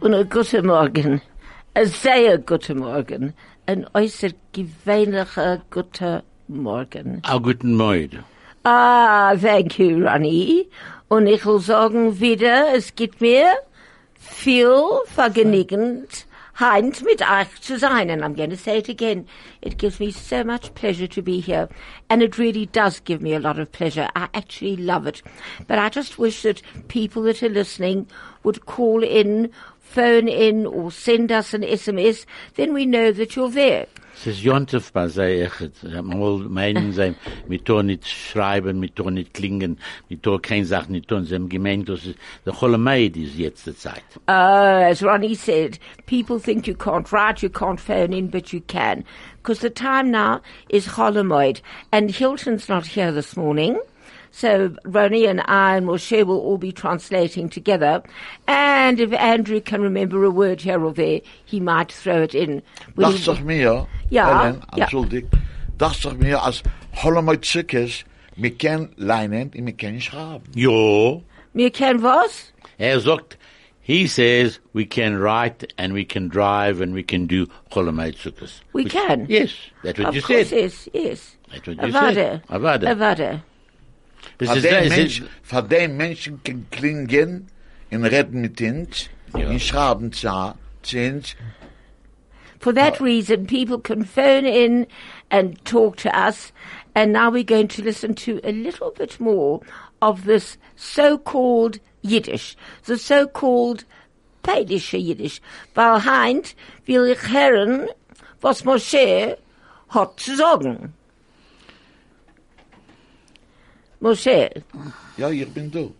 Und ein guten Morgen. Ein sehr guten Morgen. Ein äußerst gewöhnlicher guten Morgen. Guten Morgen. Thank you, Ronnie. Und ich will sagen wieder, es gibt mir viel Vergnügen, Heint mit euch zu sein. And I'm going to say it again. It gives me so much pleasure to be here. And it really does give me a lot of pleasure. I actually love it. But I just wish that people that are listening would call in, phone in, or send us an SMS. Then we know that you're there. Es ist Jontef bei sei echt. Mal meinen sie, mit tun nicht schreiben, mit tun nicht klingen, mit tun keine Sachen nicht tun. Sie haben gemeint, dass es der Cholomeid ist jetzt die Zeit. As Ronnie said, people think you can't write, you can't phone in, but you can. Because the time now is Cholomeid. And Hilton's not here this morning. So Ronnie and I and Moshe will all be translating together. And if Andrew can remember a word here or there, he might throw it in. Dacht doch mir, Ja, Ellen, ja. entschuldigt, dacht doch mir, als Holomoid ziek is, wir können lernen und wir können schreiben. Jo. Wir kennen was? Sagt, he says we can write and we can drive and we can do Cholomeid Sukkos. We can. Yes, that's what Of you course, said. yes. That's what you said. Avada. Avada. Von dem Menschen kann klingen und reden mit uns, und schreiben zu uns. For that reason, people can phone in and talk to us. And now we're going to listen to a little bit more of this so-called Yiddish, the so-called Peilische Yiddish. Weil heint will ich hören, was Moshe hat zu sagen. Moshe. Ja, ich bin du.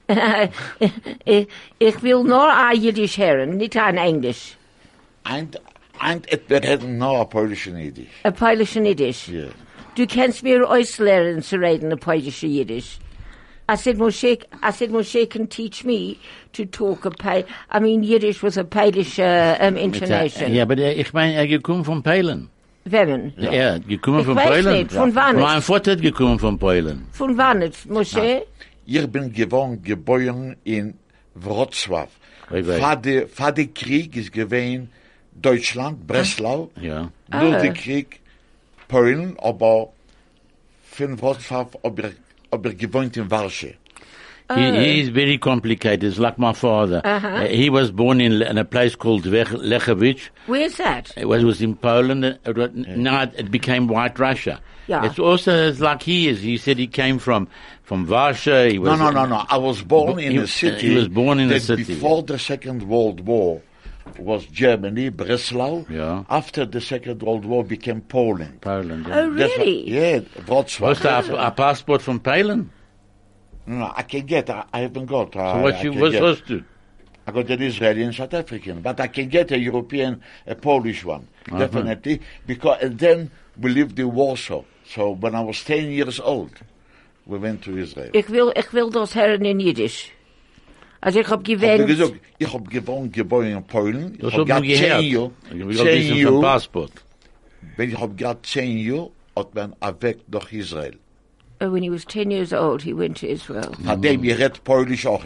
Ich will nur ein Yiddish hören, nicht ein Englisch. Wir hätten noch ein polnisches Yiddish. Ein polnisches Yiddish. Ja. Du kannst mir auslernen zu reden, ein polnisches Yiddish. I said Moshe can teach me to talk Yiddish with a Polish intonation. Ja, aber ich meine, gekommen von Polen. Wem? Ja, gekommen von weiß Polen. nicht, von wann Mein ist? Vater hat gekommen von Polen. Von wann ist, Moshe? Ich bin geboren in Wrocław. Vor der Krieg ist gewesen Deutschland, Breslau. Ja. Durch den Krieg Polen, aber von Wrocław aber gewohnt in Warschau. He is very complicated. It's like my father. He was born in a place called Lechowicz. Where's that? It was in Poland. Now it became White Russia. Yeah. It's also like he is. He said he came from Warsaw. He was No. I was born in a city. He was born in a that city. Before the Second World War was Germany, Breslau. Yeah. After the Second World War became Poland. Poland. Oh, really? Wrocław. What's a passport from Poland? No, I can get. I haven't got. So what supposed to? I got an Israeli and South African, but I can get a European, a Polish one, definitely, because and then we lived in Warsaw. So when I was 10 years old, we went to Israel. Ich will das hören in Yiddish. Also ich hab gewählt. Ich hab geboren in Polen. Das hab ich gehört. Ich hab ein Passport. Wenn ich hab gerade 10 Jahre, hat man weg nach Israel. Oh, when he was 10 years old, he went to Israel. Von dem ich red Polish auch.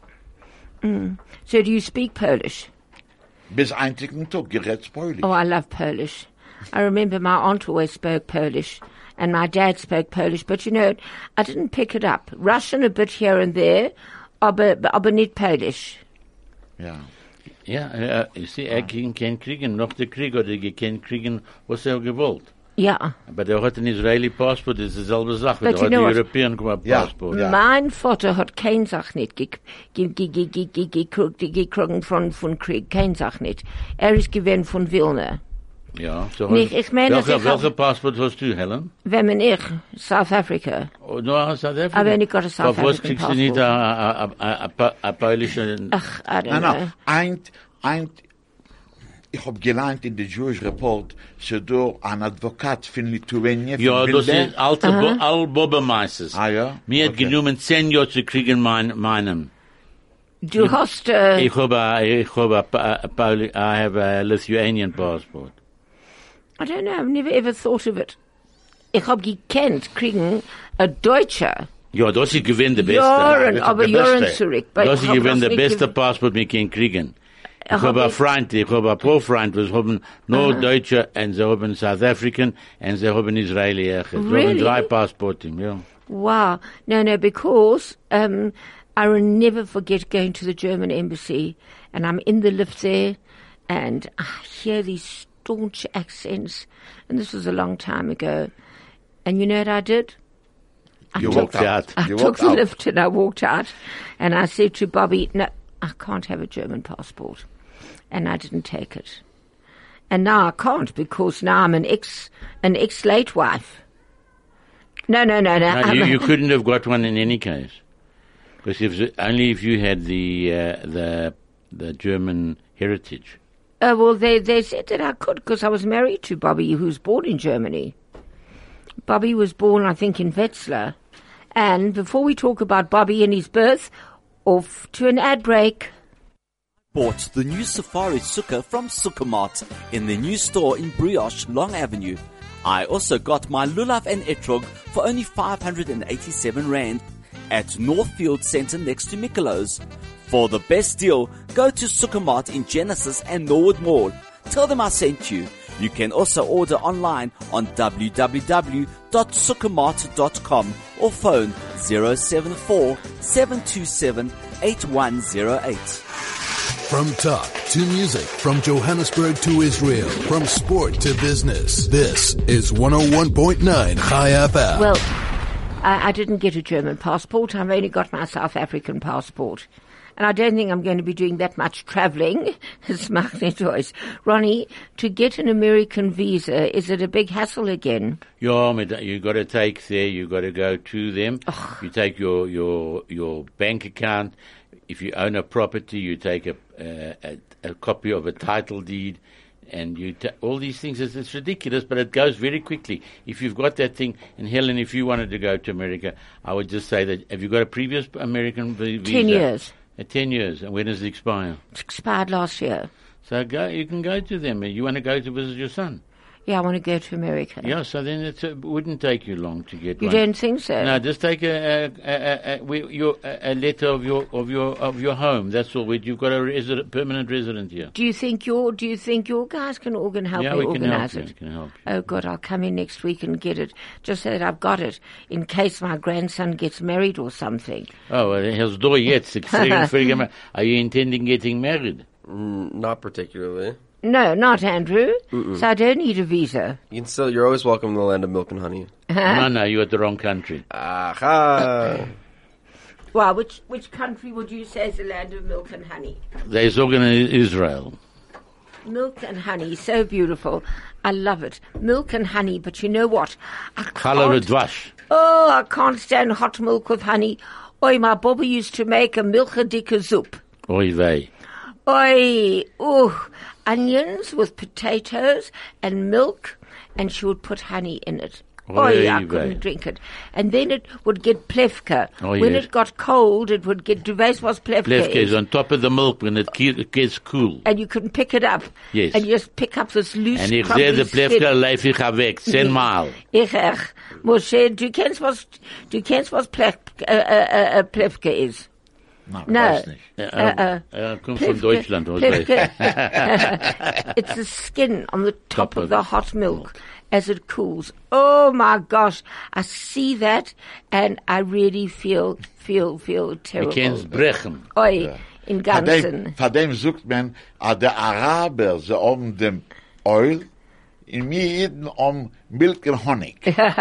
So do you speak Polish? Bis einzigen Tag, ich red Polish. Oh, I love Polish. I remember my aunt always spoke Polish, and my dad spoke Polish, but you know, I didn't pick it up. Russian a bit here and there, aber nicht Polish. Ja. Ja, you see, kann kriegen, noch der Krieg, oder kann kriegen, was gewollt. Ja. Aber der hat ein Israeli Passport, das ist dieselbe Sache. But Der hat you know ein what? European Passport. Ja. Mein Vater hat kein Sach nicht gekriegt von Krieg, kein Sach nicht. Ist gewesen von Wilna. Ja, so Nicht, ich meine, welcher Passport hast du, Helen? Wenn man South Africa. Oh, no, South Africa. Aber ich got a South Aber was African kriegst du nicht passport. a polnische... Ach, I don't know. Ich hab gelernt in the Jewish Report, so do an Advokat von Lithuania. Ja, das ist all Bobermeisters. Ah, ja? Mir hat Okay. genommen 10 Jahre zu kriegen meinen. Du hast, I have a Lithuanian passport. I don't know, I've never ever thought of it. Ich hab gekannt, kriegen a Deutscher. Ja, das ist gewinn der Beste. Jahren, Das ist aber der Jahren Beste. zurück. Das ist gewinn der nicht beste gewinn- Passport, wir können kriegen. Ich habe ein paar Freunde, die haben nur Deutsche, und sie haben South African, und sie haben Israeli. Sie haben 3 Passporten, ja. Wow. No, because I will never forget going to the German embassy, and I'm in the lift there, and I hear these staunch accents, and this was a long time ago. And you know what I did? I took the lift and I walked out, and I said to Bobby, no, I can't have a German passport. And I didn't take it. And now I can't, because now I'm an ex-late wife. No. You couldn't have got one in any case. Because only if you had the German heritage. Well, they said that I could, because I was married to Bobby, who was born in Germany. Bobby was born, I think, in Wetzlar. And before we talk about Bobby and his birth, off to an ad break. Bought the new Safari Sukkah from Sukkahmart in the new store in Brioche, Long Avenue. I also got my lulav and etrog for only 587 Rand at Northfield Centre next to Mikelo's. For the best deal, go to Sukkahmart in Genesis and Norwood Mall. Tell them I sent you. You can also order online on www.sukkahmart.com or phone 074 727 8108. From talk to music, from Johannesburg to Israel, from sport to business, this is 101.9 Chai FM. Well, I didn't get a German passport. I've only got my South African passport. And I don't think I'm going to be doing that much traveling. It's macht nicht aus. Ronnie, to get an American visa, is it a big hassle again? Yeah, you got to take there, you got to go to them. You take your bank account. If you own a property, you take a copy of a title deed, and all these things. It's ridiculous, but it goes very quickly. If you've got that thing, and Helen, if you wanted to go to America, I would just say that, have you got a previous American visa? 10 years. 10 years. And when does it expire? It expired last year. So you can go to them. You want to go to visit your son? Yeah, I want to go to America. Yeah, so then it wouldn't take you long to get You one. don't think so? No, just take a letter of your home. That's all. You've got a permanent resident here. Do you think your guys can help me organize it? We can help you. Oh God, I'll come in next week and get it. Just so that I've got it in case my grandson gets married or something. Oh, well, how's door yet? Are you intending getting married? Not particularly. No, not Andrew. So I don't need a visa. You're always welcome in the land of milk and honey. No, you're at the wrong country. Aha! Well, which country would you say is the land of milk and honey? There's Israel. Milk and honey, so beautiful. I love it. Milk and honey, but you know what? I can't stand hot milk with honey. Oi, my Bobby used to make a milchadike soup. Oy vey. Oi, onions with potatoes and milk, and she would put honey in it. I couldn't drink it. And then it would get plevka. When it got cold, it would get, du weißt was plevka is? Plevka is on top of the milk when it gets cool. And you can pick it up. Yes. And you just pick up this loose, and ich sehe the plevka, leif ich weg, 10 Mal. Moshe, du kennst was plevka is? No. Kommt von Deutschland. It's the skin on the top of the hot milk as it cools. Oh my gosh, I see that and I really feel terrible. You can't brechen. Oi, in ganzen. Von dem sucht man, der Araber, sie haben dem Oil, in mir jeden Milk and Honig.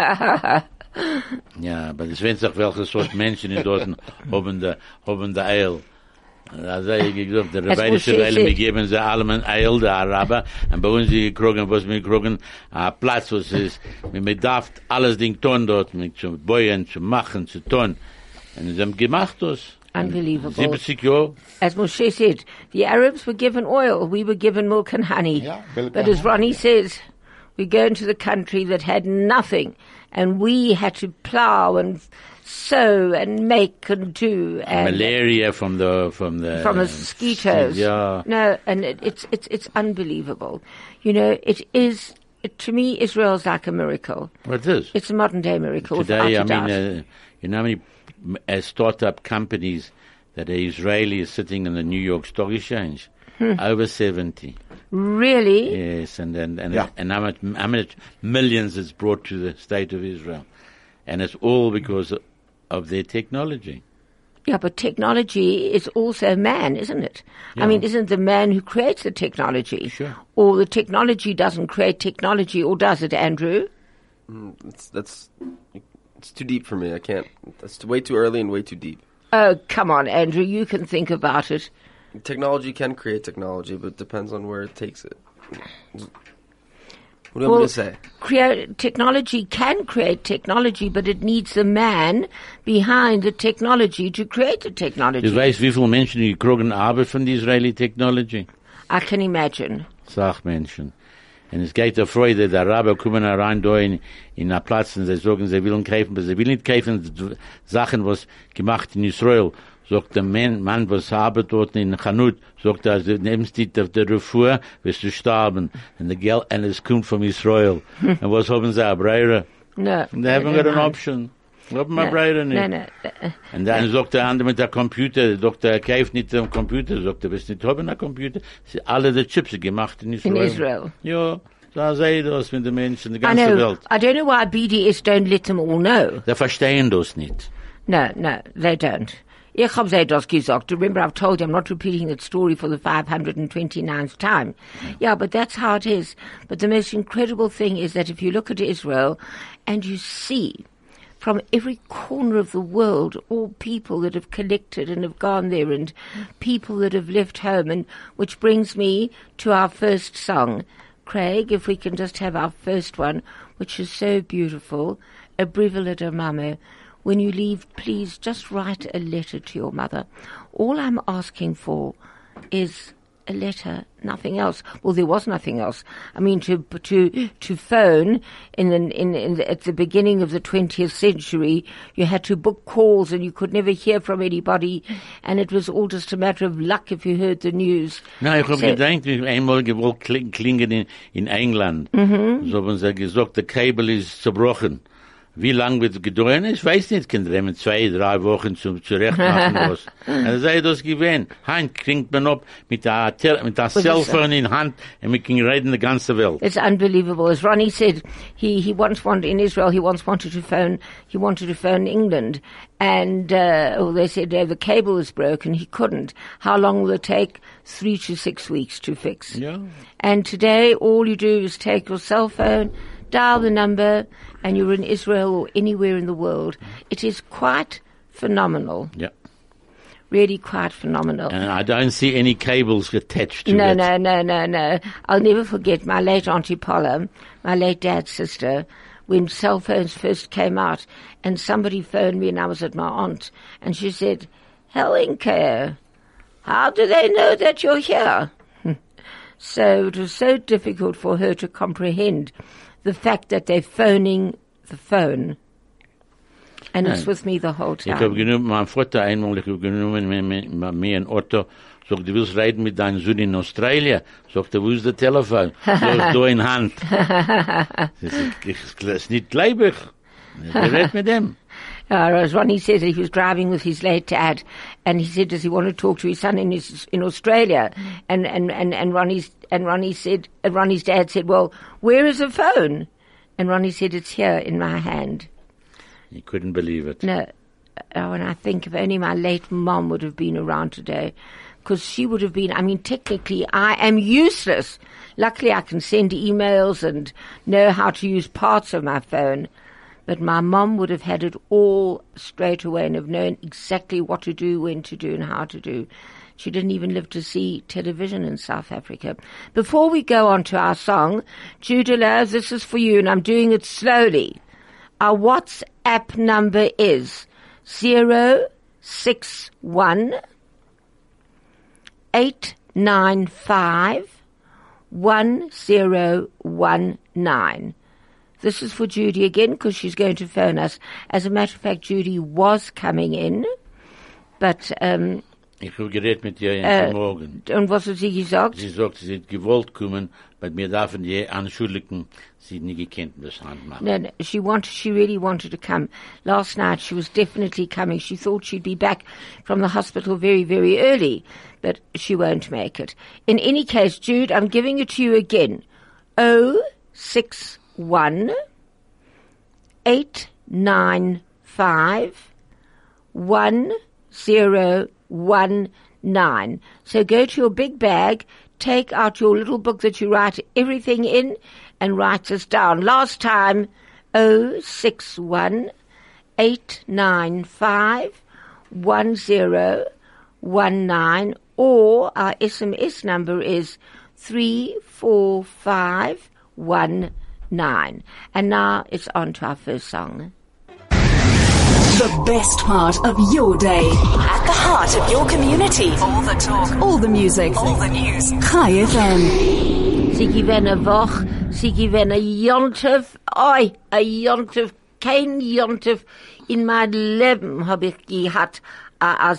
Ja, aber es werden sich welche Sort Menschen in Dorten haben der Eil. Also ich gesagt, der rabbinische Eil, wir geben sie allem ein Eil, der Araber, und bei uns die kriegen, was wir kriegen, ein Platz, was ist, wir darf alles Ding tun dort, mit zu bauen, zu machen, zu tun. Und sie haben gemacht das. Unbelievable. 70 Jahre. As Moshe said, the Arabs were given oil, we were given milk and honey. Yeah, but as Ronnie says, we go into the country that had nothing, and we had to plow and sow and make and do. And malaria from the mosquitoes. Yeah. No, and it's unbelievable. You know, to me, Israel's like a miracle. Well, it is. It's a modern day miracle. Today, you know how many startup companies that are Israeli is sitting in the New York Stock Exchange? over 70. Really? Yes, and Yeah. how much millions it's brought to the state of Israel, and it's all because of their technology. Yeah, but technology is also man, isn't it? I mean, isn't the man who creates the technology? Sure. Or the technology doesn't create technology, or does it, Andrew? It's too deep for me. I can't. That's way too early and way too deep. Oh, come on, Andrew, you can think about it. Technology can create technology, but it depends on where it takes it. What do you want me to say? Technology can create technology, but it needs the man behind the technology to create the technology. Du weißt, wie viele Menschen die kriegen Arbeit von der Israeli Technology? I can imagine. Sachmenschen. Und es geht der Freude, der Araber kommen rein da in einen Platz und sie sagen, sie wollen kaufen, aber sie wollen nicht kaufen Sachen, was gemacht in Israel. Sagt der Mann, was arbeitet dort in Chanut, sagt er, du nimmst dich auf der Refuhr, wirst du sterben. Und der Geld, und es kommt von Israel. Und was haben sie, Breire? No. They haven't got an option. Haben wir Breire nicht. No. Und dann sagt der andere mit der Computer, sagt er kauft nicht den Computer, sagt er, wirst nicht haben einen Computer. Sie alle die Chips gemacht in Israel. In Israel. Ja, da sei das mit den Menschen, die I ganze know. Welt. I don't know why BDS don't let them all know. Die verstehen das nicht. No, they don't. Ich habe sie das gesagt. Remember, I've told you I'm not repeating that story for the 529th time. Yeah, but that's how it is. But the most incredible thing is that if you look at Israel and you see from every corner of the world all people that have collected and have gone there and people that have left home, and which brings me to our first song. Craig, if we can just have our first one, which is so beautiful, A Brivela de Mamo. When you leave, please just write a letter to your mother. All I'm asking for is a letter, nothing else. Well, there was nothing else. I mean, to phone at the beginning of the 20th century, you had to book calls and you could never hear from anybody, and it was all just a matter of luck if you heard the news. Na, ich habe gedacht, einmal gewollt klingen in England. So haben sie gesagt, der Kabel ist zerbrochen. Wie lang wird es gedauert? Ich weiß nicht, können wir 2, 3 Wochen zurecht machen was. Und sei das gewesen. Hand kriegt man ab mit der Cellphone in Hand und wir können reden die ganze Welt. It's unbelievable. As Ronnie said, he once wanted in Israel. He wanted to phone England, and they said the cable was broken. He couldn't. How long will it take? 3 to 6 weeks to fix. Yeah. And today, all you do is take your cell phone, dial the number, and you're in Israel or anywhere in the world. It is quite phenomenal. Yeah. Really quite phenomenal. And I don't see any cables attached to it. No. I'll never forget my late Auntie Paula, my late dad's sister, when cell phones first came out, and somebody phoned me and I was at my aunt, and she said, Helenka, how do they know that you're here? So it was so difficult for her to comprehend the fact that they're phoning the phone. And it's with me the whole Ich habe time. genommen, mein Vater einmal, ich habe genommen mir ein Auto, sagt, du willst reden mit deinem Sohn in Australien? Sagt, wo ist der Telefon? Sagt, da in Hand. Das ist nicht gleich. Ich rede mit dem. As Ronnie said, that he was driving with his late dad, and he said, does he want to talk to his son in Australia? And Ronnie's dad said, well, where is the phone? And Ronnie said, it's here in my hand. He couldn't believe it. No, and I think if only my late mom would have been around today, because she would have been, I mean, technically I am useless. Luckily I can send emails and know how to use parts of my phone. But my mom would have had it all straight away and have known exactly what to do, when to do, and how to do. She didn't even live to see television in South Africa. Before we go on to our song, Judah Love, this is for you, and I'm doing it slowly. Our WhatsApp number is 061 895 1019. This is for Judy again, because she's going to phone us. As a matter of fact, Judy was coming in, but Ich habe geredet mit ihr jeden Morgen. Und was hat sie gesagt? Sie sagt, sie hat gewollt kommen, aber wir dürfen die anschuldigen, sie hat nie gekannt, das Handmachen. No, she really wanted to come. Last night she was definitely coming. She thought she'd be back from the hospital very, very early, but she won't make it. In any case, Jude, I'm giving it to you again. 061 895 1019. So go to your big bag, take out your little book that you write everything in, and write this down. Last time, 061 895 1019, or our SMS number is 34519. And now it's on to our first song. The best part of your day. At the heart of your community. All the talk. All the music. All the news. Chai FM. Sie gewinnen eine Woche, sie gewinnen ein Jontef, ein Jontef, kein Jontef in meinem Leben habe ich gehabt, ein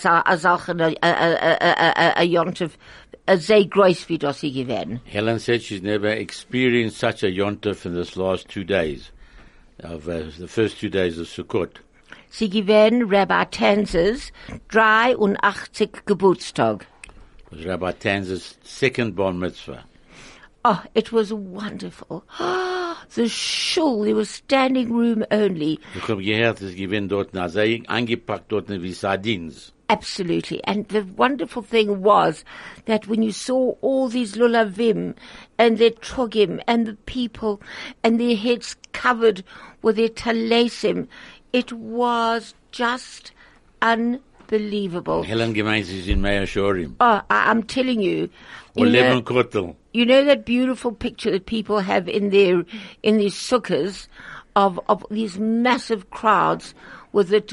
Jontef, sehr groß wie das sie gewinnen. Helen said she's never experienced such a Yontef in this last 2 days, of the first 2 days of Sukkot. Sie gewinnen Rabbi Tanz's 83. Geburtstag. It was Rabbi Tanz's second bar mitzvah. Oh, it was wonderful. The shul, there was standing room only. Ich habe gehört, es gewinnt dort, sehr eingepackt dort wie Sardines. Absolutely. And the wonderful thing was that when you saw all these lulavim and their trogim and the people and their heads covered with their talesim, it was just unbelievable. Helen gemeint, sie sind mehr Shorim. Oh, I'm telling you. Or Leben Kotel. You know that beautiful picture that people have in these sukkahs of these massive crowds with the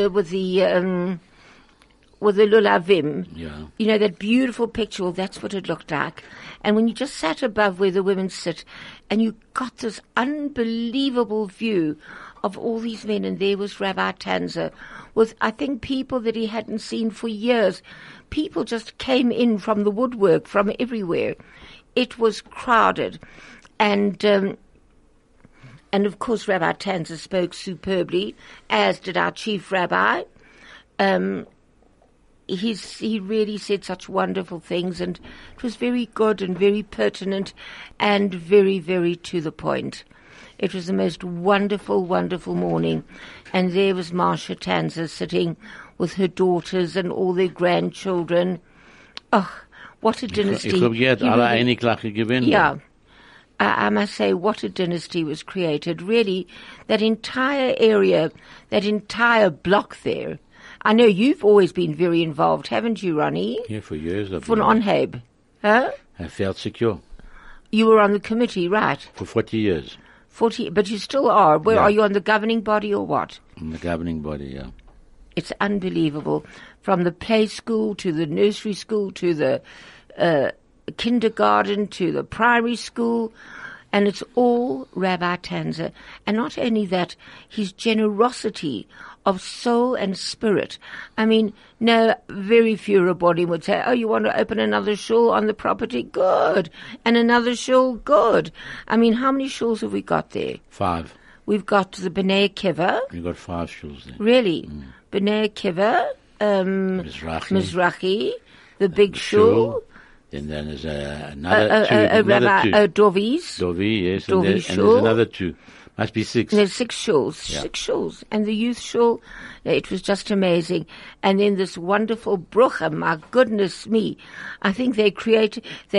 lulavim. Yeah. You know that beautiful picture. Well, that's what it looked like. And when you just sat above where the women sit, and you got this unbelievable view of all these men, and there was Rabbi Tanzer with, I think, people that he hadn't seen for years. People just came in from the woodwork, from everywhere. It was crowded. And of course Rabbi Tanzer spoke superbly, as did our chief rabbi. He really said such wonderful things, and it was very good and very pertinent and very, very to the point. It was the most wonderful, wonderful morning. And there was Marsha Tanzer sitting with her daughters and all their grandchildren. Oh, what a dynasty. Ich habe gehört, alle eine Klache gewinnen. Yeah. I must say, what a dynasty was created. Really, that entire area, that entire block there. I know you've always been very involved, haven't you, Ronnie? Yeah, for years. Von Onheb. Huh? I felt secure. You were on the committee, right? For 40 years. 40, but you still are. Where Yeah. are you, on the governing body or what? In the governing body, yeah. It's unbelievable. From the play school to the nursery school to the kindergarten to the primary school, and it's all Rabbi Tanzer. And not only that, his generosity of soul and spirit. I mean, no, very few Rabbonim would say, oh, you want to open another shul on the property? Good. And another shul? Good. I mean, how many shuls have we got there? 5. We've got the B'nai Akiva. We got 5 shuls there. Really? B'nai Akiva, Mizrahi, the big shul. Then there's another two. Dovi's. Dovi, yes. Dovi and there's shul. another 2. Must be 6. There's 6 shuls. Yeah. 6 shuls. And the youth shul, it was just amazing. And then this wonderful brucha, my goodness me. I think they catered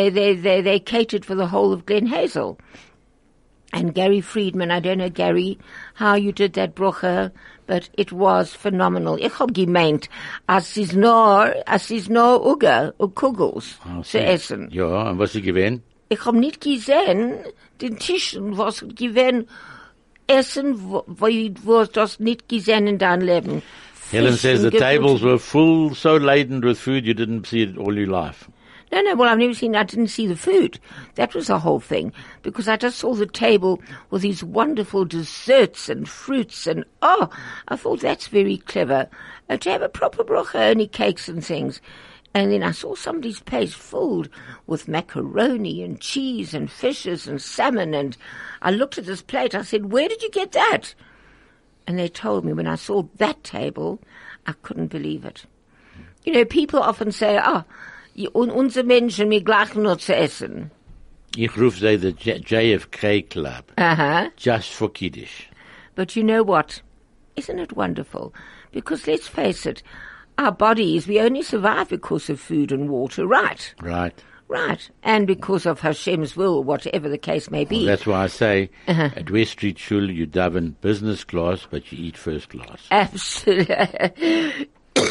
for the whole of Glen Hazel. And Gary Friedman, I don't know, Gary, how you did that brucha, but it was phenomenal. Ich hab gemeint, as is no Uga, Kugels zu essen. Ja, und was sie gewähnt? Ich hab nicht gesehen, den Tischen, was gewesen essen, wo das nicht gesehen in deinem Leben. Helen says the Fish and tables were full, so laden with food you didn't see it all your life. No, well, I didn't see the food. That was the whole thing. Because I just saw the table with these wonderful desserts and fruits and, I thought that's very clever. To have a proper bracha, only cakes and things. And then I saw somebody's place filled with macaroni and cheese and fishes and salmon. And I looked at this plate. I said, where did you get that? And they told me when I saw that table, I couldn't believe it. You know, people often say, unsere Menschen, wir gleichen nur zu essen. Ich rufe sie the JFK Club. Uh-huh. Just for Kiddush. But you know what? Isn't it wonderful? Because let's face it, our bodies, we only survive because of food and water, right? Right. Right. And because of Hashem's will, whatever the case may be. Well, that's why I say at West Street Shul you daven business class, but you eat first class. Absolutely.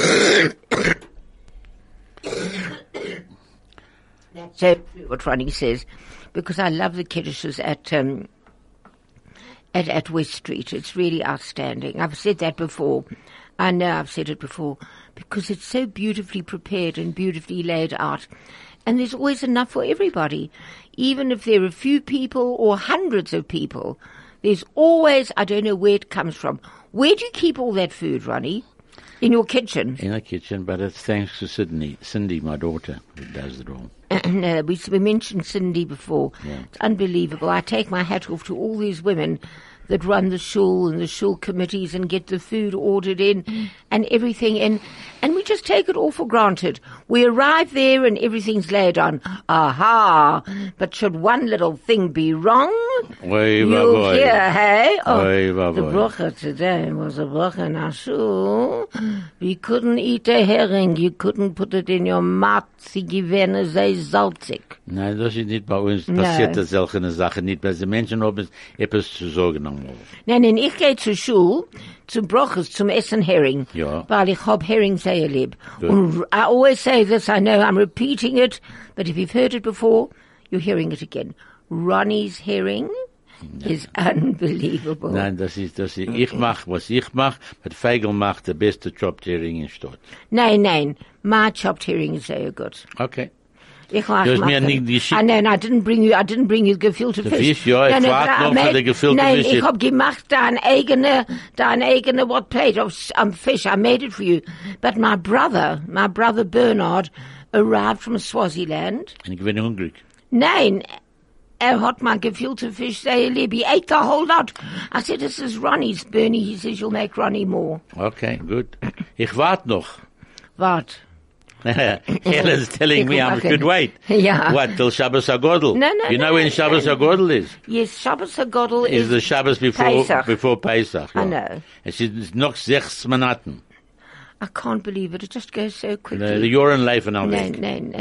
That's so true what Ronnie says, because I love the kiddushes at West Street. It's really outstanding. I've said that before. I know I've said it before, because it's so beautifully prepared and beautifully laid out. And there's always enough for everybody. Even if there are a few people or hundreds of people, there's always, I don't know where it comes from. Where do you keep all that food, Ronnie? In your kitchen? In the kitchen, but it's thanks to Cindy, my daughter, who does it all. No, we mentioned Cindy before. Yeah. It's unbelievable. I take my hat off to all these women that run the shul and the shul committees and get the food ordered in and everything in. And we just take it all for granted. We arrive there and everything's laid on. Aha! But should one little thing be wrong, you'll hear, hey? The bracha today was a bracha in our shul. We couldn't eat a herring. You couldn't put it in your mouth. Sie gewähne sehr salzig. Nein, das ist nicht bei uns. Passiert das solche Sachen nicht, weil die Menschen haben etwas zu sagen. Nein, ich gehe zur Schule, zum Broches, zum Essen Hering. Ja. Weil ich hab Hering sehr lieb. Und I always say this, I know I'm repeating it, but if you've heard it before, you're hearing it again. Ronnie's Herring is unbelievable. Nein, das ist, ich mach, was ich mach, but Feigl macht der beste chopped Hering in Stadt. Nein, my chopped Hering is very good. Okay. Ich like Du hast mir nicht geschickt. No, I didn't bring you gefilte Fisch. Fisch, ja, ich warte noch für die gefilte Fisch. Nein, ich hab gemacht dein eigene what plate of fish. I made it for you. But my brother Bernard arrived from Swaziland. Und ich bin hungrig. Nein, hat my gefilte Fisch sehr lieb. He ate the whole lot. I said, this is Ronnie's, Bernie. He says, you'll make Ronnie more. Okay, good. Ich warte noch. What? Helen's telling me I could wait. Yeah. What, till Shabbos HaGodel? No. You know when Shabbos HaGodel is? Yes, Shabbos HaGodel is the Shabbos before Pesach. I know. It's noch 6 Monaten. I can't believe it. It just goes so quickly. The Joren Leifen al weg.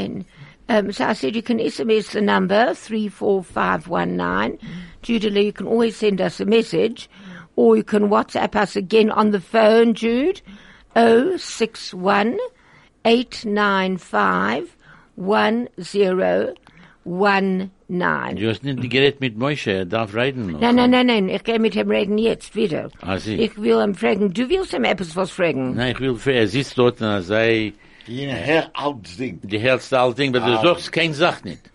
No. So I said you can SMS the number 34519. Judah, you can always send us a message, or you can WhatsApp us again on the phone, Jude, 061 895-1019. Du hast nicht geredet mit Moshe, er darf reden noch. Nein, ich gehe mit ihm reden jetzt wieder. Sie. Ich will ihm fragen, du willst ihm etwas was fragen? Nein, ich will, er sitzt dort und er sei... Die hältst Ding. Die hältst all Ding, aber du sagst kein Sach nicht.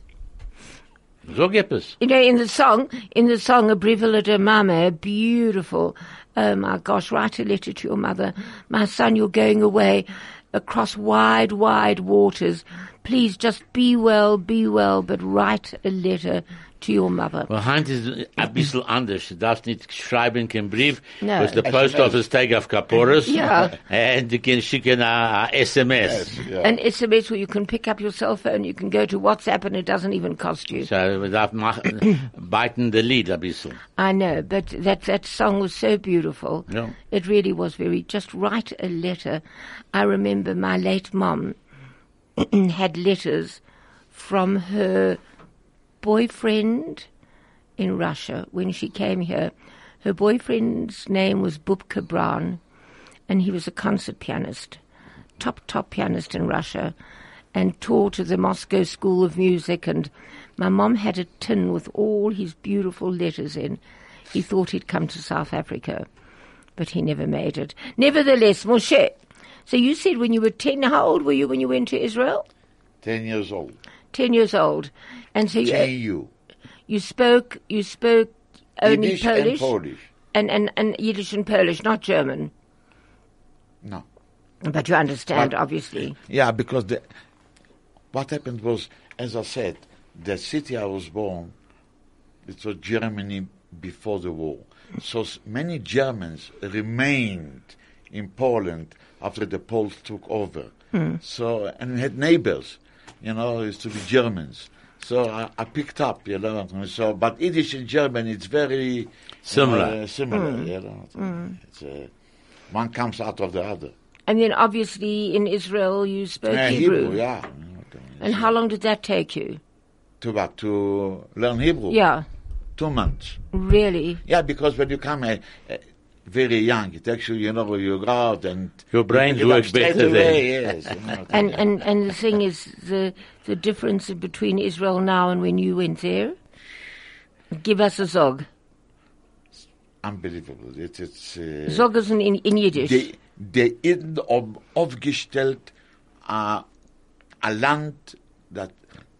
So gibt es. You know, in the song, A Brivalid Mama, beautiful. Oh my gosh, write a letter to your mother. My son, you're going away across wide, wide waters. Please just be well, but write a letter to your mother. Well, Hand ist ein bisschen anders. Du darfst nicht schreiben keinen Brief, no. was the post office take auf Kaporis. Yeah. And you can schicken a SMS. Yes, yeah. An SMS where you can pick up your cell phone, you can go to WhatsApp and it doesn't even cost you. So, we darf biten the lead ein bisschen. I know, but that song was so beautiful. Yeah. It really was just write a letter. I remember my late mom had letters from her boyfriend in Russia when she came here. Her boyfriend's name was Bubka Brown, and he was a concert pianist, top pianist in Russia, and taught at the Moscow School of Music. And my mom had a tin with all his beautiful letters in. He thought he'd come to South Africa, but he never made it. Nevertheless, Moshe, so you said when you were 10, how old were you when you went to Israel? 10 years old. 10 years old. And so you spoke only Yiddish Polish? and Polish. And Yiddish and Polish, not German. No. But you understand, obviously. Yeah, because what happened was, as I said, the city I was born, it was Germany before the war. So many Germans remained in Poland after the Poles took over. So, and we had neighbors, used to be Germans. So I picked up, So, but Yiddish and German, it's very Similar. It's, one comes out of the other. And then obviously in Israel you spoke Hebrew. Yeah. And how long did that take you? To what? To learn Hebrew? Yeah. 2 months. Really? Yeah, because when you come very young, it actually, you go out and Your brain you pick it up works straight better away, then. Yes, And the thing is, the difference between Israel now and when you went there? Give us a zog. Unbelievable. It's Zog is in Yiddish. die Iden aufgestellt a Land that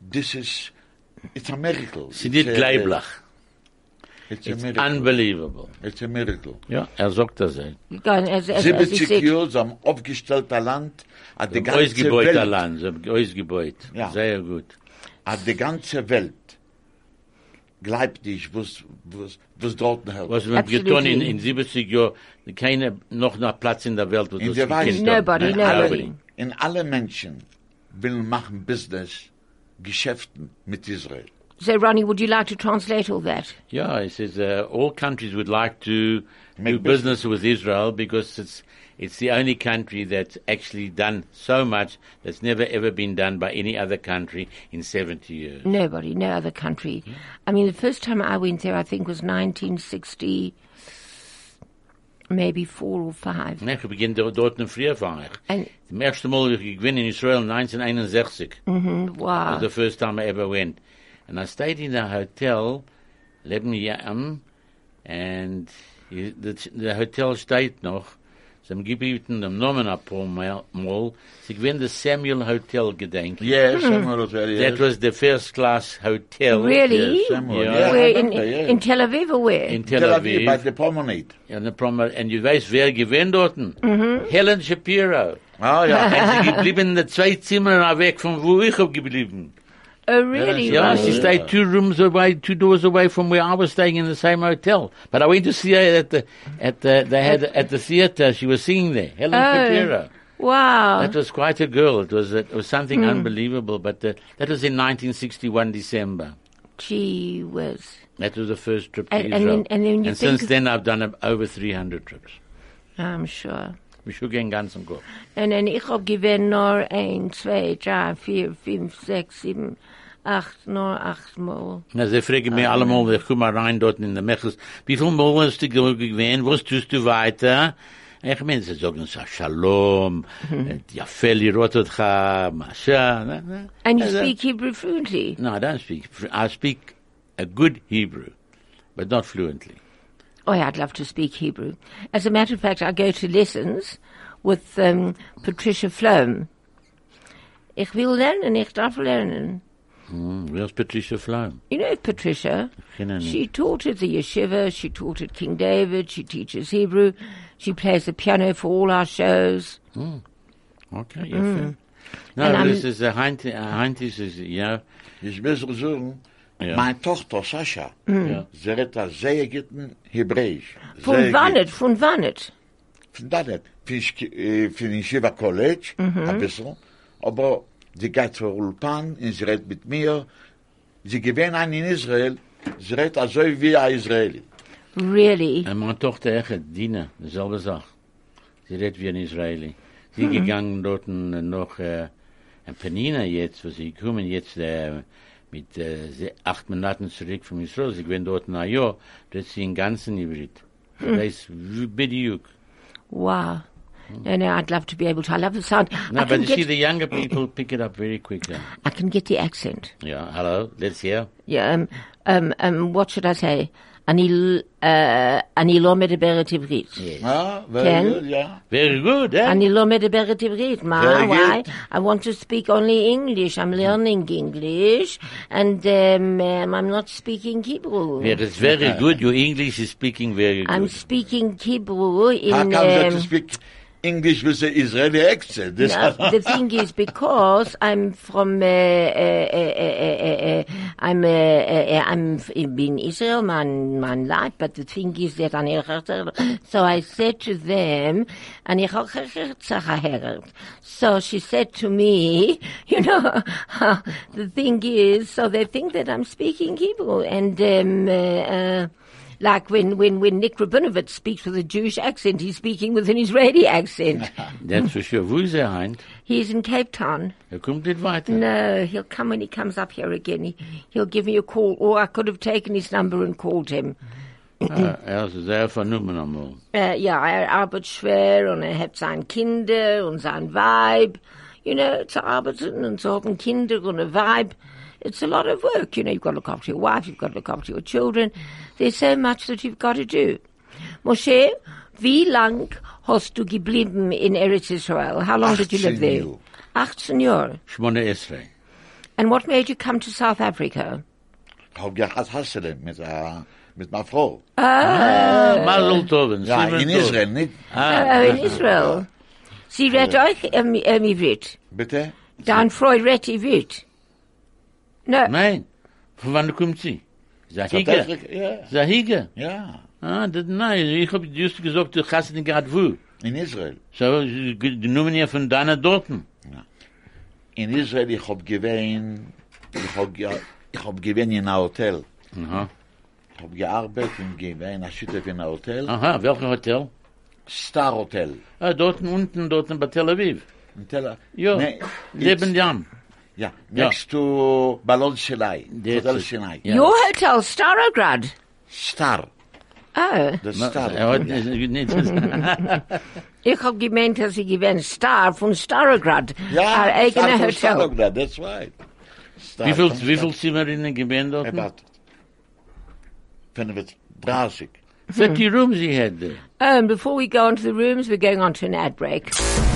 it's a miracle. Sie nicht gleiblich. It's a It's miracle. unbelievable. It's a miracle. Ja, sagt das. Ey. As he 70 said, Jahre am aufgestellter Land, hat die ganze Ausgebeuter Welt, Land, ausgebeut. Ja. Sehr gut. hat die ganze Welt gleibt nicht, was dort hält. Was wir Absolutely. getan in 70 Jahren, keine noch Platz in der Welt, wo In das der Welt. gekannt hat. Nobody, nobody. In alle Menschen will machen Business, Geschäften mit Israel. So, Ronnie, would you like to translate all that? Yeah, it says all countries would like to Make do business with Israel because it's the only country that's actually done so much that's never ever been done by any other country in 70 years. Nobody, no other country. I mean, the first time I went there, I think, was 1960, maybe 4 or 5. Ich beginne dort in früher war ich. And, Das erste Mal ich gewinne in Israel 1961. wow. was the first time I ever went. And I stayed in a hotel, 11 Jahren, and the hotel steht noch. Sie haben gebeten dem Namen ein paar Mal. Sie gewinnen das Samuel Hotel gedenken. Yes, Samuel Hotel, yes. That was the first class hotel. Really? Yes, Samuel. Yeah. Yeah, Where, I in, remember, yeah. in Tel Aviv or where? In Tel By Aviv. the promenade. And you weiß, wer gewinnt dort? Helen Shapiro. Ah, ja. Und sie geblieben in den 2 Zimmern weg von wo ich hab geblieben. Oh, really? Yeah, Ronnie? she stayed 2 doors away from where I was staying in the same hotel. But I went to see her at the theater. She was singing there, Helen Shapiro. Wow. That was quite a girl. It was something unbelievable. But that was in 1961 December. Gee whiz. That was the first trip to And Israel. then you since think- then I've done over 300 trips. I'm sure. We should get ganz im Kopf. Und dann ich hab gewinnt nur 1, 2, 3, 4, 5, 6, 7, 8, nur 8 Mal. Na, sie fragen mir allemal, ich komme rein dort in der Mechels, wie viel Mal hast du gewähnt, was tust du weiter? Ich meine, sie sagen so, Shalom, Yafeli Rototcha, Masha. And you speak Hebrew fluently? No, I don't speak. I speak a good Hebrew, but not fluently. Oh, yeah, I'd love to speak Hebrew. As a matter of fact, I go to lessons with Patricia Flohm. Ich will lernen, ich darf lernen. Where's Patricia Flohm? You know Patricia? She taught at the yeshiva, she taught at King David, she teaches Hebrew, she plays the piano for all our shows. Okay, yeah. No, And this is a Heintis is, Ich muss sagen, Ja. meine Tochter Sascha, sie redet das sehr guten Hebräisch. Von Sehr wann gut. nicht, von wann nicht? Von da nicht. Von Yeshiva College, ein bisschen. Aber sie geht zur Ulpan, und sie redet mit mir. Sie gewinnt einen in Israel, sie redet also wie ein Israeli. Really? Und meine Tochter Echet, Dina, dieselbe Sache. Sie redet wie ein Israeli. Sie gegangen dort noch ein Penina jetzt, wo sie kommen jetzt mit 8 Monaten zurück von Israel. Sie gehen dort ein Jahr, redet sie in ganzen Hybrid. Das ist Bidiuk. Wow. No, I'd love to be able to. I love the sound. No, I but can you see, get, the younger people pick it up very quickly. I can get the accent. Yeah, hello, let's hear. Yeah, what should I say? Ani lo medeberet Ivrit. Ah, very Ken? good, yeah. Very good, eh? Ani lo medeberet Ivrit. Very Why? good. I want to speak only English. I'm learning English, and I'm not speaking Hebrew. Yeah, it's very good. Your English is speaking very good. I'm speaking Hebrew How in. comes that to speak English with the Israeli accent. This No, the thing is, because I'm from, I'm in Israel, man life, but the thing is that so I said to them, so she said to me, you know, the thing is, so they think that I'm speaking Hebrew, and like when Nick Rabinovich speaks with a Jewish accent, he's speaking with an Israeli accent. That's for sure. Wo ist Heint? He's in Cape Town. Kommt nicht weiter. No, he'll come when he comes up here again. He'll give me a call, or I could have taken his number and called him. Ist sehr vernommen einmal. Ja, arbeitet schwer und hat seine Kinder und sein Weib. You know, zu arbeiten und zu haben Kinder und ein Weib. It's a lot of work. You know, you've got to look after your wife, you've got to look after your children. There's so much that you've got to do. Moshe, wie lang hast du geblieben in Eretz Israel? How long did you live there? 18 Jahre. 18. And what made you come to South Africa? Ich hab gehabt Hassele mit meiner Frau. Mazel tov. Ja, in Israel, nicht? Oh, in Israel. Sie redt euch Ivrit. Bitte? Dein Frau redt Ivrit. No. Nein. Von wann kommt sie? Zahiga. Ja. Zahiga. Ja. Nein, ich hab just gesagt, du hast nicht gerade wo. In Israel. So, die Nummern hier von deiner Dorten. In Israel, ich hab gewähnt in einem Hotel. Aha. Ich hab gearbeitet und gewähnt, in einem Hotel. Aha, welches Hotel? Star Hotel. Dort bei Tel Aviv. In Tel Aviv. Ja, Nee, Lebendjam. Ja, next to Balon Sinai. Hotel Sinai. Ja. Your hotel, Starograd. Star. Oh. The Star. Ich hab gemeint, dass sie gewinnt Star von Starograd. Ja, Our eigene Star von Hotel. Starograd, that's right. Star Wie von viel Zimmerinnen gewähnt dort? About 35. 30 rooms he had there. And before we go on to the rooms, we're going on to an ad break.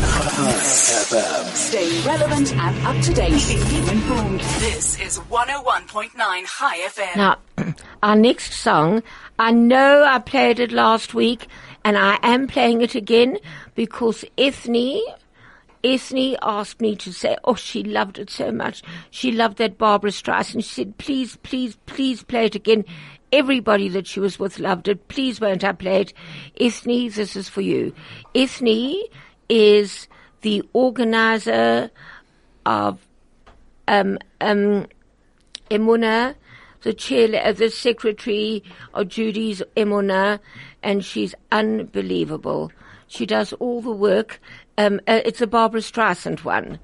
Stay relevant and up to date. Keep informed. This is 101.9 High FM. Now, our next song, I know I played it last week, and I am playing it again because Ethne asked me to say, oh, she loved it so much. She loved that Barbara Streisand. She said, please, please, please play it again. Everybody that she was with loved it. Please won't I play it? Ethne, this is for you. Ethne is the organizer of Emunah, the secretary of Judy's Emunah, and she's unbelievable. She does all the work. It's a Barbara Streisand one.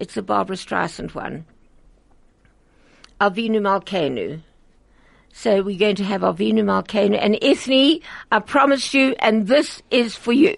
Avinu Malkeinu. So we're going to have Avinu Malkeinu and Ethne, I promise you, and this is for you.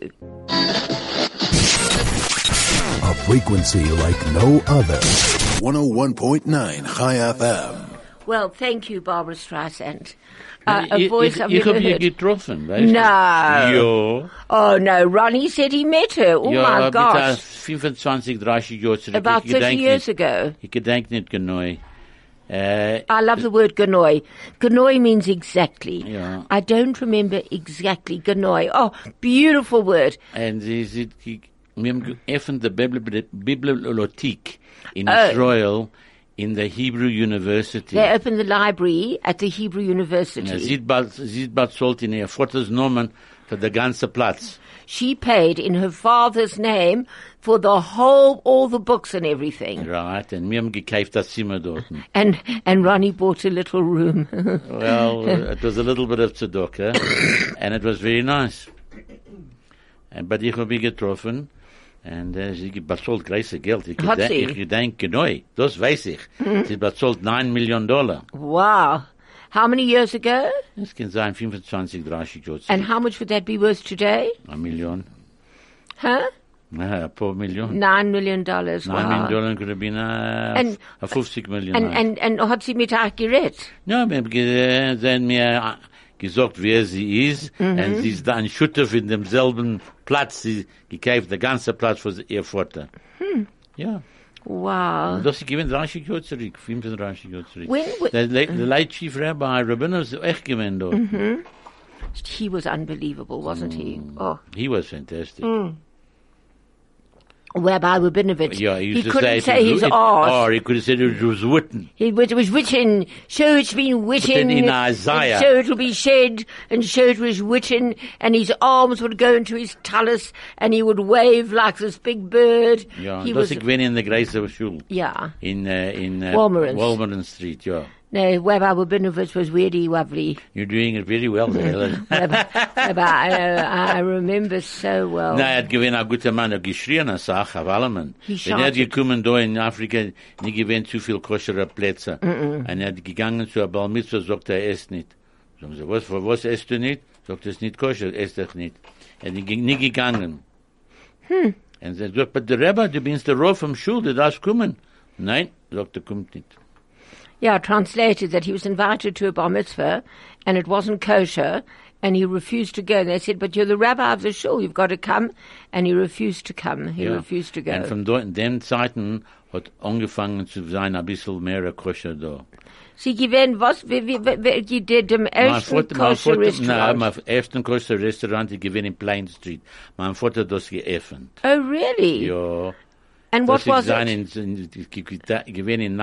A frequency like no other. 101.9 High FM. Well, thank you, Barbara Streisand. A voice I've Ich never hab ihr heard. getroffen, weißt du? No. Ja. Oh, no. Ronnie said he met her. Oh, my Ja, gosh. 25, 30 Jahre zurück. About Ich 30 gedenk years nicht. ago. Ich gedenk nicht genau. I love the word Ganoi. Ganoi means exactly. Yeah. I don't remember exactly Ganoi. Oh, beautiful word. Und wir haben geöffnet die Bibliothek in Oh. Israel in the Hebrew University. They opened the library at the Hebrew Ja, University. sie hat bezahlt in ihr Vaters Namen für den ganzen Platz. She paid in her father's name for all the books and everything. Right, und wir haben gekauft das Zimmer dort. And Ronnie bought a little room. Well, it was a little bit of tzedakah, and it was very nice. But ich habe ihn getroffen, und sie bezahlt große Geld. Ich Hat sie? gedenk genau, das weiß ich. Sie bezahlt $9 million. Wow. How many years ago? Das kann sein 25, 30 Jahre. And how much would that be worth today? $1 million. Huh? Ja, ein paar Millionen. $9 million. $9 Wow. million could have been And- 50 Millionen. And hat sie mit euch geredet? Ja, wir haben sie haben mir gesagt, wer sie ist, und sie ist da ein Schutter in demselben Platz, sie gekauft, der ganze Platz für ihr Vater. Ja. Wow. Das ist gewinnt 30 Jahre zurück, 35 Jahre zurück. When- Der late Chief Rabbi Rabinov ist echt gewinnt dort. He was unbelievable, wasn't he? Oh. He was fantastic. Rabbi Rabinovich. Yeah, he used to couldn't say say his arse. or he could have said it was written. It was written, so it's been written, in Isaiah. and so it'll be said, and so it was written, and his arms would go into his talus, and he would wave like this big bird. Ja, he das was, ich bin in der Greiser Schule. yeah. In Walmerens. Walmeren Street, yeah. No, Rabbi Rabinovich was really lovely. You're doing it very well there. Rabbi, I remember so well. Na, hat gewinn a guter Mann, geschrien a Sach, auf allemen. He Wenn hat shouted. gekommen da in Afrika, nie gewinn zu viel koschere Plätze. Und hat gegangen zu a Bar Mitzvah, sagt esst nicht. Sagen sie, was esst du nicht? Sagt es nicht koscher, esst doch nicht. Er hat nie gegangen. Und sie sagt, aber der Rebbe, du bist der Rauf vom Schul, du darfst kommen. Nein, sagt er, kommt nicht. Yeah, translated that he was invited to a bar mitzvah, and it wasn't kosher, and he refused to go. And they said, but you're the rabbi of the shul, you've got to come. And he refused to come. He refused to go. Und von dort, in den Zeiten, hat angefangen zu sein, ein bisschen mehr koscher da. Sie gewähnt, was, wie did dem ersten kosher Nein, restaurant? mein ersten koscher Restaurant, ich gewinn in Plain Street. Mein Vater hat das geöffnet. Oh, really? Ja. And what was it? Ich gewinn in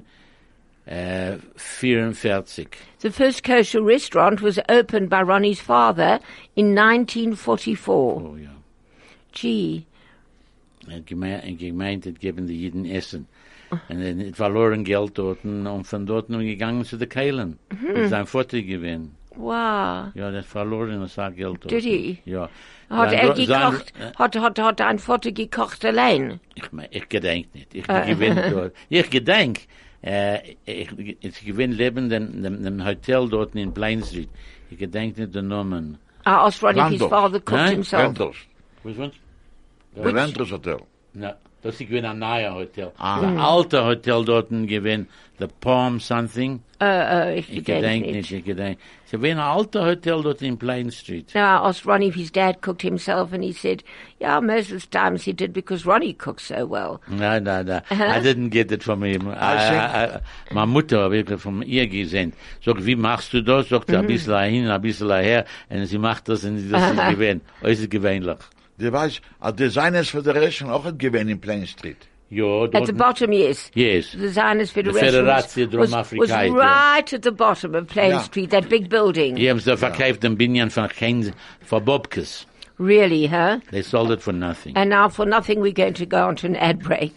1944. The first kosher restaurant was opened by Ronnie's father in 1944. Oh, ja. Gee. Gemeint hat geben die Jeden Essen. Und dann verloren Geld dort und von dort gegangen zu den Keilen. Mit seinem Vater gewinn. Wow. Ja, der verloren das Geld dort. Did he? Ja. Hat gekocht, hat dein Vater gekocht allein? Ich gedenk nicht. Ich gewinn dort. Ich gedenk. Ich gewinn leben dem Hotel dort in Plain Street. Ich gedenk nicht den Namen. I asked Ronnie if his Randolph. father cooked Nein? himself. Renters. Was war's? Der Renters Hotel. Na, das ist gewinn ein neuer Hotel. Ein alter Hotel dort gewinn, the Palm something. Ich Ich gedenk nicht, ich gedenk. Es gewinn ein alter Hotel dort in Plain Street. No, I asked Ronnie if his dad cooked himself, and he said, yeah, most of the times he did because Ronnie cooks so well. No. I didn't get it from him. Meine Mutter habe ich von ihr gesehen. Sag, wie machst du das? Sagt, ein bisschen hin, ein bisschen her. Und sie macht das und das ist gewinn. Äußerst gewöhnlich. Du weißt, a Designers Federation auch hat gewähnt in Plain Street. Ja, At the bottom, yes. Yes. The Zionist Federation Federatie was Drum-Afrika, ja. right at the bottom of Plain Ja. Street, that big building. Die haben sie verkauft den Binyan von Keynes, von Bobkes. Really, huh? They sold it for nothing. And now for nothing, we're going to go on to an ad break.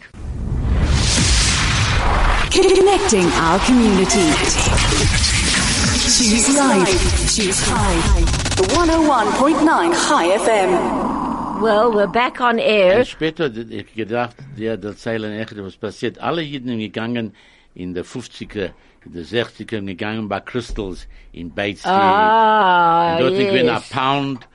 Connecting our community. Choose life. Choose high. The 101.9 High FM. Well, we're back on air. Und später, ich gedacht, der erzählen echt, was passiert. Alle Jeden gegangen in der 50er, in der 60er, gegangen bei Crystals in Bates Street. Ah, Und dort ich bin a yes. pound.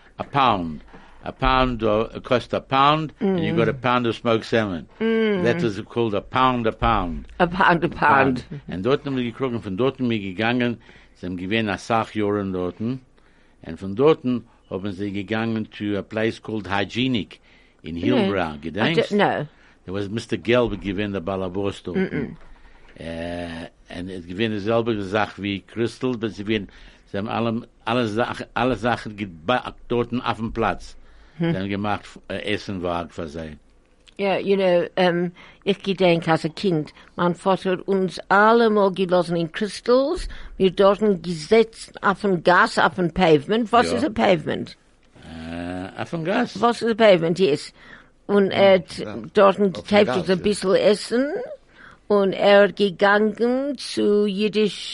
A pound cost a pound, and you got a pound of smoked salmon. That was called a pound. A pound, a pound. Und dort haben wir gekrogen, von dort sind wir gegangen, sie haben gewähnt nach Sachjoren dorten, und von dorten haben sie gegangen to a place called Hygienic in Hillbrow. I Gedenkst? don't know. There was Mr. Gelb gewähnt der Balabos dorten. Und es gewähnt dieselbe Sache wie Crystal, aber sie haben alle Sachen gebackt dorten auf dem Platz. Sie haben gemacht, Essen war für sie. Ja, you know, ich gedenk als ein Kind, mein Vater hat uns alle mal gelassen in Crystals, wir dort gesetzt auf ein Gas, auf ein Pavement. Was Ja. ist ein Pavement? Auf dem Gas. Was ist ein Pavement, yes. Und er hat dort gekauft Gas, uns ein ja. bisschen Essen, und er hat gegangen zu Yiddish,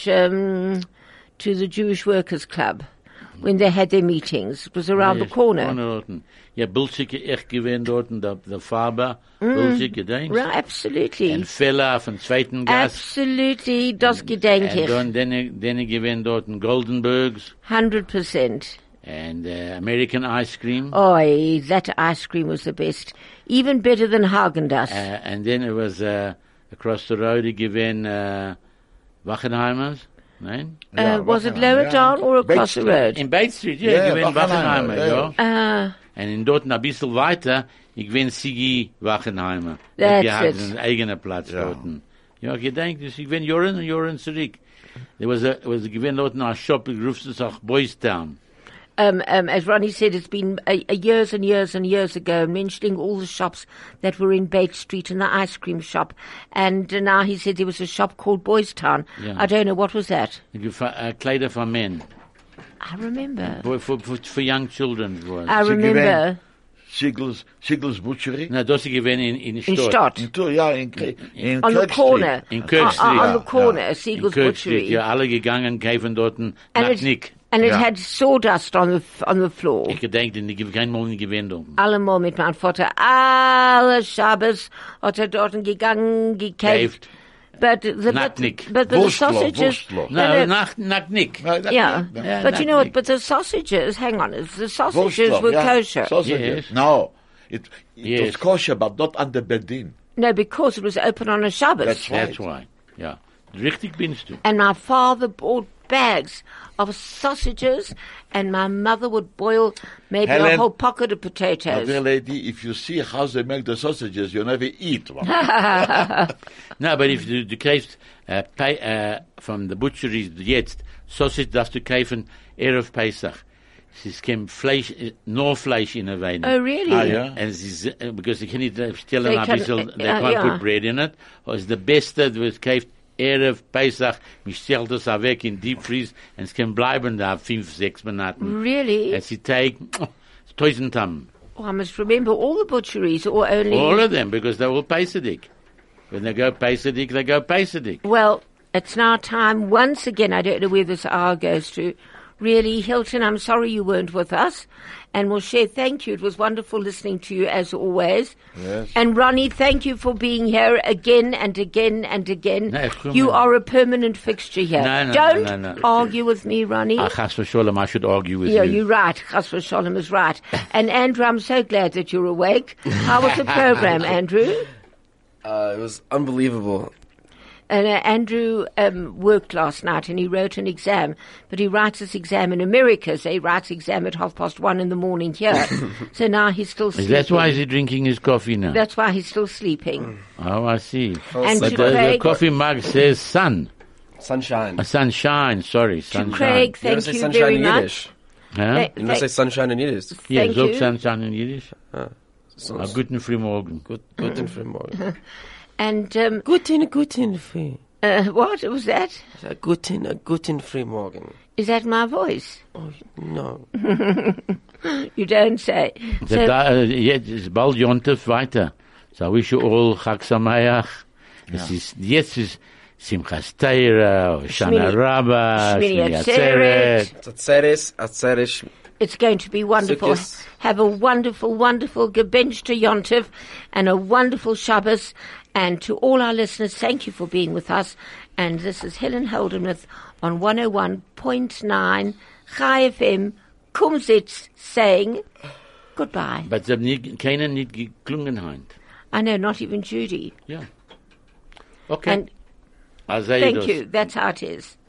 to the Jewish Workers Club, when they had their meetings. It was around the corner. Dorten. Ja, Bulschike echt gewähnt dorten, der Faber, Bulschike, denkst? Right, absolutely. Ein Feller auf dem zweiten Gas. Absolutely, das gedenk ich. Und dann gewähnt dorten Goldenbergs 100%. and American ice cream. Oi, that ice cream was the best. Even better than Haagen-Dazs. And then it was across the road gewähnt Wachenheimers. Nein? Ja, was it Wachenheim, lower ja. down or across the Bates road? In Bates Street, ja, Ja, gewähnt Wachenheimer, Wachenheimer, ja. ja. Und in dort ein bisschen weiter, ich bin Sigi Wachenheimer. That's Die hat it. einen eigenen Platz dort. Ja, gedenkt, ich bin Jahren zurück. There was a gewinn dort ein Shop, ich rufst es auch Boys Town. as Ronnie said, it's been years and years and years ago, mentioning all the shops that were in Bates Street and the ice cream shop. And now he said there was a shop called Boys Town. Yeah. I don't know, what was that? Kleider for men. I remember. For young children. it was. I remember. Siegel's Butchery. No, das ist gewesen in In Stadt. Stott. In On the Kirk corner. In Kirk Street. On the corner, In Siegel's Kirk Butchery. Street. Ja, alle gegangen, kaufen dort Nacknick. And it Ja. had sawdust on the floor. Ich gedenke, ich habe kein Mal gewinnt. Allemal mit meinem Vater. Alle Shabbos hat dort gegangen, gekauft. But the Nacknick. but the sausages. Wurstloch. No, Nacknick. Yeah, Yeah, but you know what? Nacknick. But the sausages. Hang on, the sausages were kosher. Sausages. Yes. No, it Yes. was kosher, but not under Bedin. No, because it was open on a Shabbos. That's right. That's why. Ja. Richtig binst du. And my father bought bags of sausages, and my mother would boil maybe a Helen, whole pocket of My potatoes. dear lady, if you see how they make the sausages, you never eat one. No, but if du kaufst from the butcheries jetzt, Sausage darfst du kaufen Erev Pesach. Es ist kein Fleisch, nur Fleisch in der Weine. Oh, really? Ah, ja. And es ist, because they can't stellen They ein can- bisschen, they yeah, can't yeah. put bread in it. Es ist der Beste, du es kauft Erev Pesach, man stellt das auch weg in Deep Freeze, und es kann bleiben da 5-6 Monaten. Really? Es ist Teig, 1000 Tam. Oh, I must remember all the butcheries, or only. All of them, because they're all Pesach. When they go Pesach, they go Pesach. Well, it's now time once again. I don't know where this hour goes to. Really, Hilton, I'm sorry you weren't with us. And Moshe, thank you. It was wonderful listening to you as always. Yes. And Ronnie, thank you for being here again and again and again. No, come You on. are a permanent fixture here. No, Don't no. argue with me, Ronnie. Chas v'sholem, I should argue with Yeah, you. you're right. Chas v'sholem is right. And Andrew, I'm so glad that you're awake. How was the program, Andrew? It was unbelievable. And Andrew worked last night and he wrote an exam, but he writes this exam in America, so he writes exam at 1:30 in the morning here. So now he's still sleeping. That's why he's drinking his coffee now. That's why he's still sleeping. Oh, I see. And But to the Craig, coffee mug says sun. Sunshine. Sunshine, sorry, to sunshine. Craig, You never thank say you sunshine very in much. Yiddish. Huh? Thank- You never say sunshine in Yiddish. Ja, thank sag you. sunshine in Yiddish. So, A guten Frühmorgen. Guten Frühmorgen. And Guten Früh. what was that? Guten Frühmorgen. Is that my voice? Oh, no. You don't say. So, Jetzt ist bald Jontef weiter. So I wish you all Chag Sameach. Jetzt ist Simchas Torah, Shana Rabbah, Shmini Shmini Atzeret. Atzeret. Atzeres. it's going to be wonderful. Sukkos. Have a wonderful, wonderful Gebench to Yontiv and a wonderful Shabbos. And to all our listeners, thank you for being with us. And this is Helen Holdenmuth on 101.9 Chai FM, Kumsitz, saying goodbye. But sie haben keiner nicht geklungen heint. I know, not even Judy. Ja. Okay. And Also, thank das- you. That's how it is.